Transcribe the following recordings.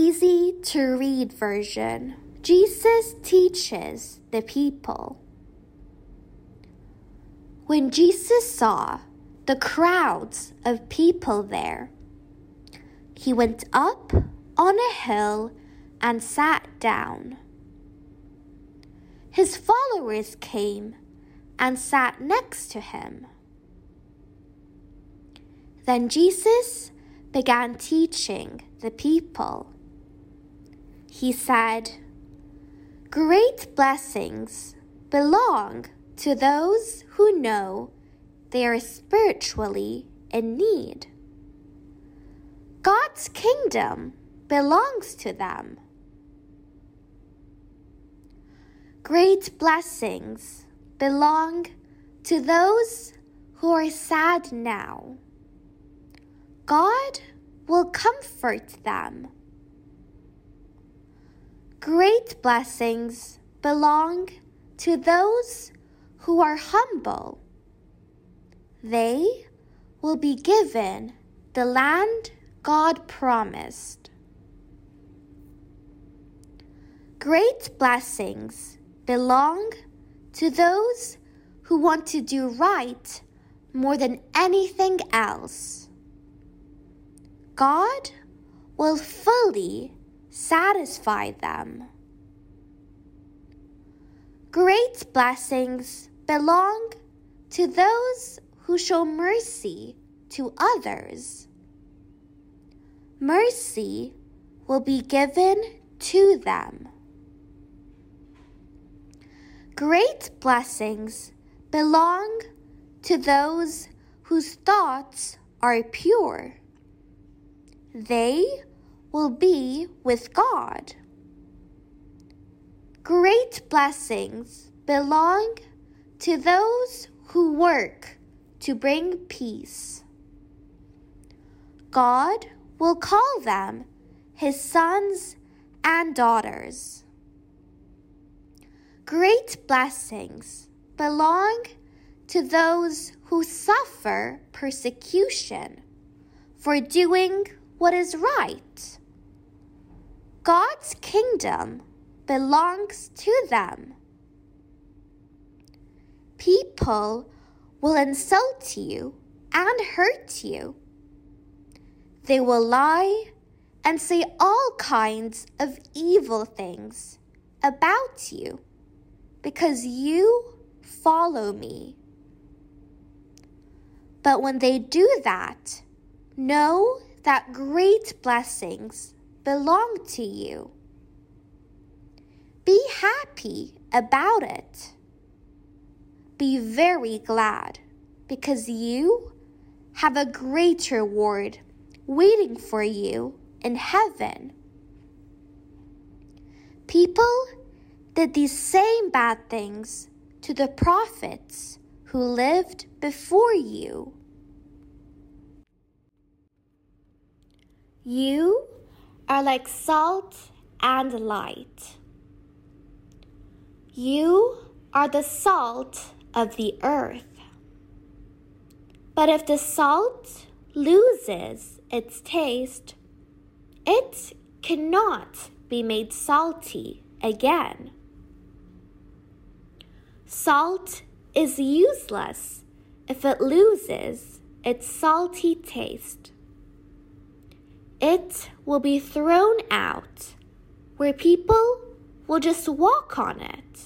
easy-to-read version, Jesus teaches the people. When Jesus saw the crowds of people there, he went up on a hill and sat down. His followers came and sat next to him. Then Jesus began teaching the people. He said, "Great blessings belong to those who know they are spiritually in need. God's kingdom belongs to them. Great blessings belong to those who are sad now. God will comfort them. Great blessings belong to those who are humble. They will be given the land God promised. Great blessings belong to those who want to do right more than anything else. God will fully satisfy them. Great blessings belong to those who show mercy to others. Mercy will be given to them. Great blessings belong to those whose thoughts are pure. They will be with God. Great blessings belong to those who work to bring peace. God will call them his sons and daughters. Great blessings belong to those who suffer persecution for doing what is right. God's kingdom belongs to them. People will insult you and hurt you. They will lie and say all kinds of evil things about you because you follow me. But when they do that, know that great blessings belong to you. Be happy about it. Be very glad because you have a great reward waiting for you in heaven. People did these same bad things to the prophets who lived before you. You are like salt and light. You are the salt of the earth. But if the salt loses its taste, it cannot be made salty again. Salt is useless if it loses its salty taste. It will be thrown out where people will just walk on it.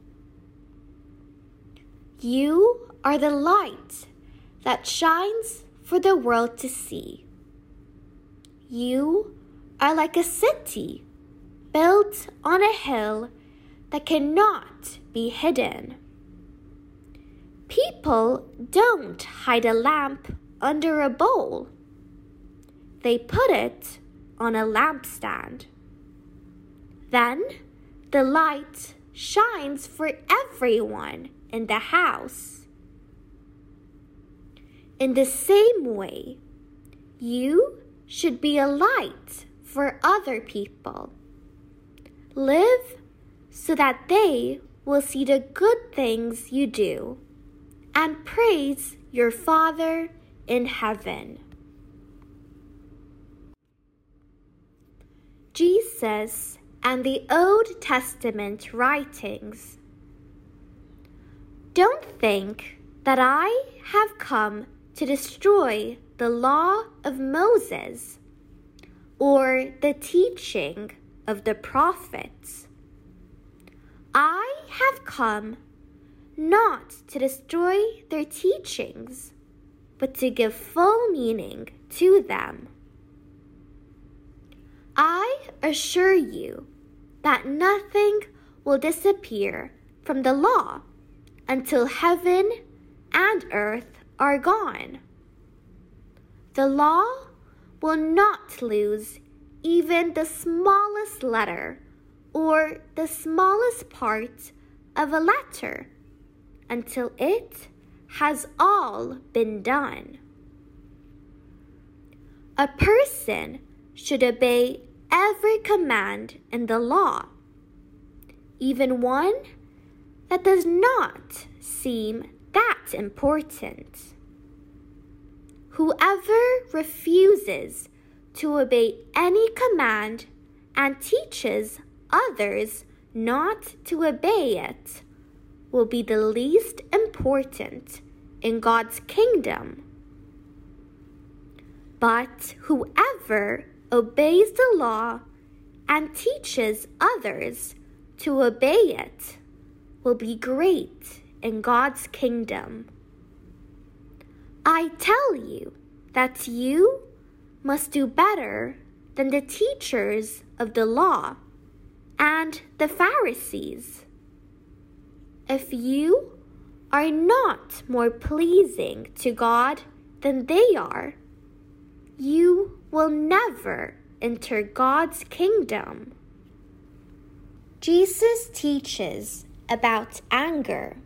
You are the light that shines for the world to see. You are like a city built on a hill that cannot be hidden. People don't hide a lamp under a bowl. They put it on a lampstand. Then the light shines for everyone in the house. In the same way, you should be a light for other people. Live so that they will see the good things you do and praise your Father in heaven. Jesus Moses and the Old Testament writings. Don't think that I have come to destroy the law of Moses or the teaching of the prophets. I have come not to destroy their teachings, but to give full meaning to them. I assure you that nothing will disappear from the law until heaven and earth are gone. The law will not lose even the smallest letter or the smallest part of a letter until it has all been done. A person should obey every command in the law, even one that does not seem that important. Whoever refuses to obey any command and teaches others not to obey it will be the least important in God's kingdom. But whoever obeys the law and teaches others to obey it will be great in God's kingdom. I tell you that you must do better than the teachers of the law and the Pharisees. If you are not more pleasing to God than they are, you will never enter God's kingdom. Jesus teaches about anger.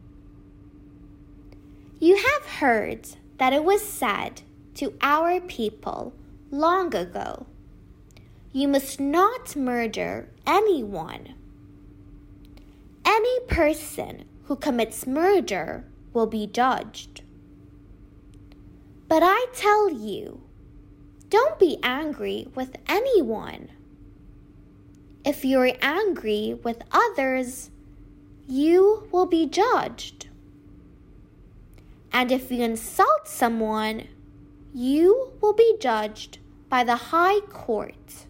You have heard that it was said to our people long ago, "You must not murder anyone." Any person who commits murder will be judged. But I tell you, don't be angry with anyone. If you're angry with others, you will be judged. And if you insult someone, you will be judged by the high court.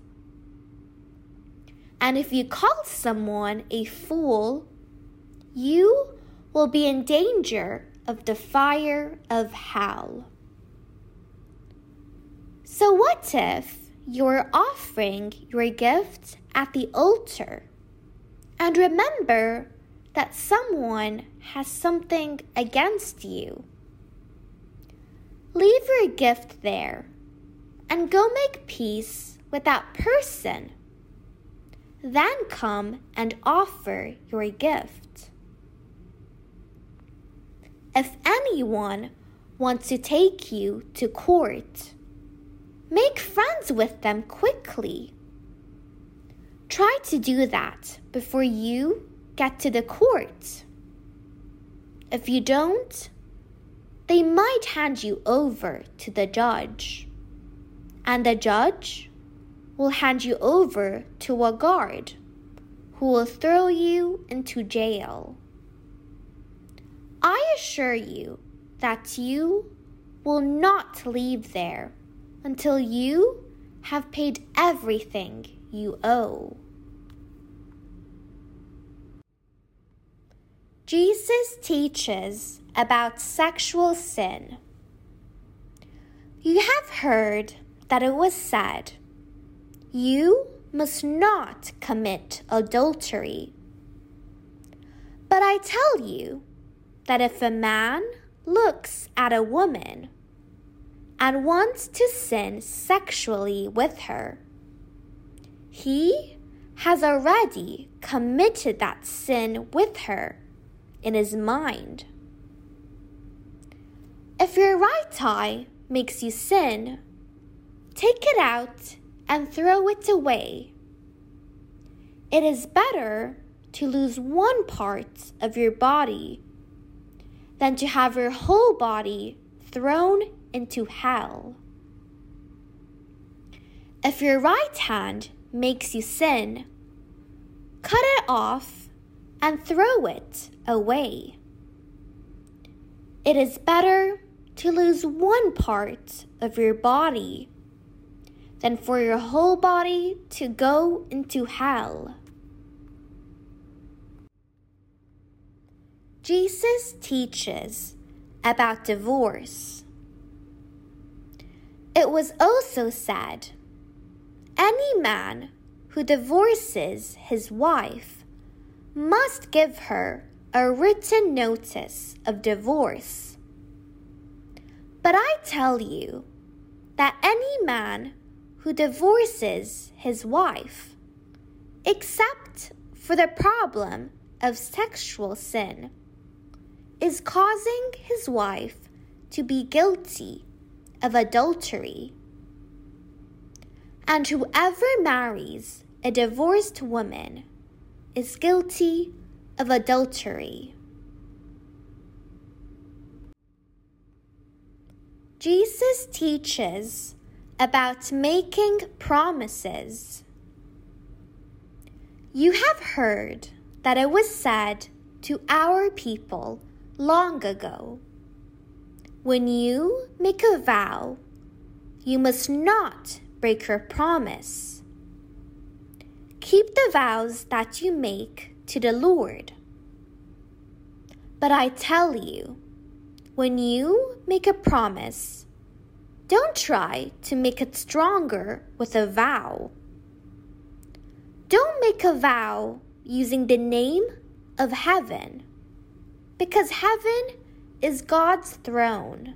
And if you call someone a fool, you will be in danger of the fire of hell. So what if you're offering your gift at the altar and remember that someone has something against you? Leave your gift there and go make peace with that person. Then come and offer your gift. If anyone wants to take you to court, make friends with them quickly. Try to do that before you get to the court. If you don't, they might hand you over to the judge, and the judge will hand you over to a guard who will throw you into jail. I assure you that you will not leave there until you have paid everything you owe. Jesus teaches about sexual sin. You have heard that it was said, "You must not commit adultery." But I tell you that if a man looks at a woman and wants to sin sexually with her, he has already committed that sin with her in his mind. If your right eye makes you sin, take it out and throw it away. It is better to lose one part of your body than to have your whole body thrown into hell. If your right hand makes you sin, cut it off and throw it away. It is better to lose one part of your body than for your whole body to go into hell. Jesus teaches about divorce. It was also said, any man who divorces his wife must give her a written notice of divorce. But I tell you that any man who divorces his wife, except for the problem of sexual sin, is causing his wife to be guilty of adultery. And whoever marries a divorced woman is guilty of adultery. Jesus teaches about making promises. You have heard that it was said to our people long ago, when you make a vow, you must not break your promise. Keep the vows that you make to the Lord. But I tell you, when you make a promise, don't try to make it stronger with a vow. Don't make a vow using the name of heaven, because heaven is God's throne.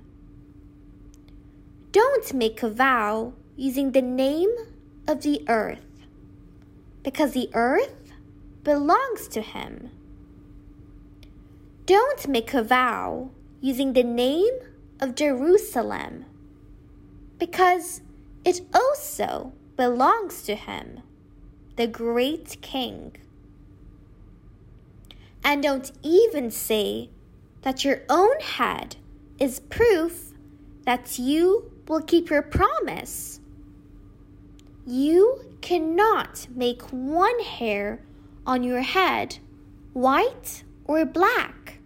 Don't make a vow using the name of the earth, because the earth belongs to Him. Don't make a vow using the name of Jerusalem, because it also belongs to Him, the great King. And don't even say that your own head is proof that you will keep your promise. You cannot make one hair on your head white or black.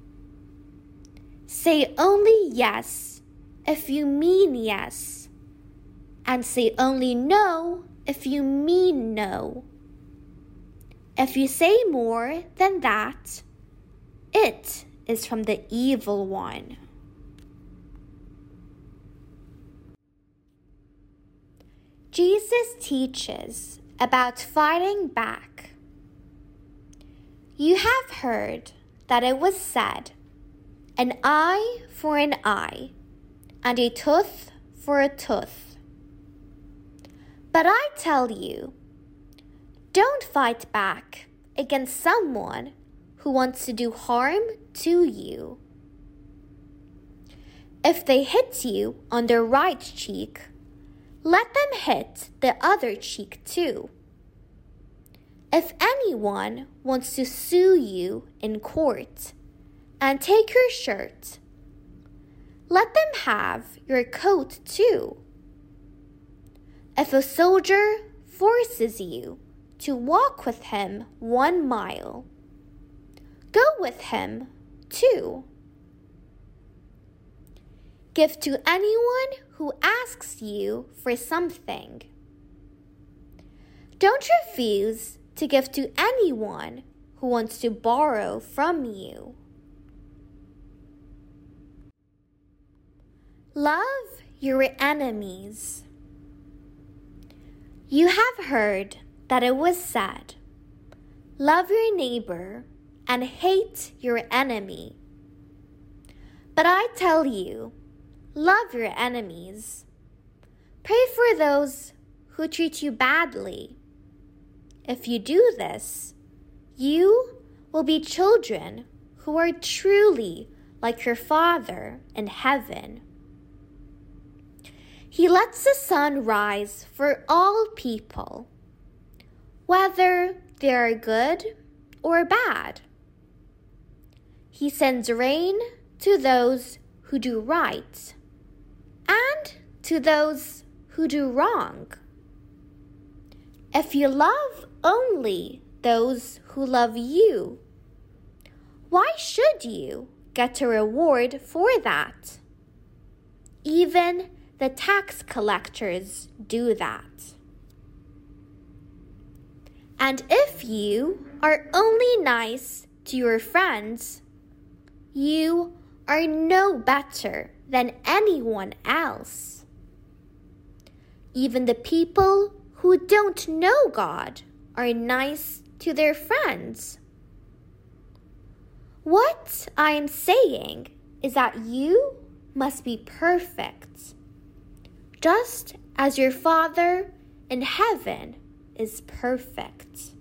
Say only yes if you mean yes, and say only no if you mean no. If you say more than that, it is from the evil one. Jesus teaches about fighting back. You have heard that it was said, an eye for an eye, and a tooth for a tooth. But I tell you, don't fight back against someone who wants to do harm to you. If they hit you on the right cheek, let them hit the other cheek too. If anyone wants to sue you in court and take your shirt, let them have your coat too. If a soldier forces you to walk with him 1 mile, go with him too. Give to anyone who asks you for something. Don't refuse to give to anyone who wants to borrow from you. Love your enemies. You have heard that it was said, love your neighbor and hate your enemy. But I tell you, love your enemies. Pray for those who treat you badly. If you do this, you will be children who are truly like your Father in heaven. He lets the sun rise for all people, whether they are good or bad. He sends rain to those who do right and to those who do wrong. if you love only those who love you, why should you get a reward for that? Even the tax collectors do that. And if you are only nice to your friends, you are no better than anyone else. Even the people who don't know God are nice to their friends. What I am saying is that you must be perfect, just as your Father in heaven is perfect.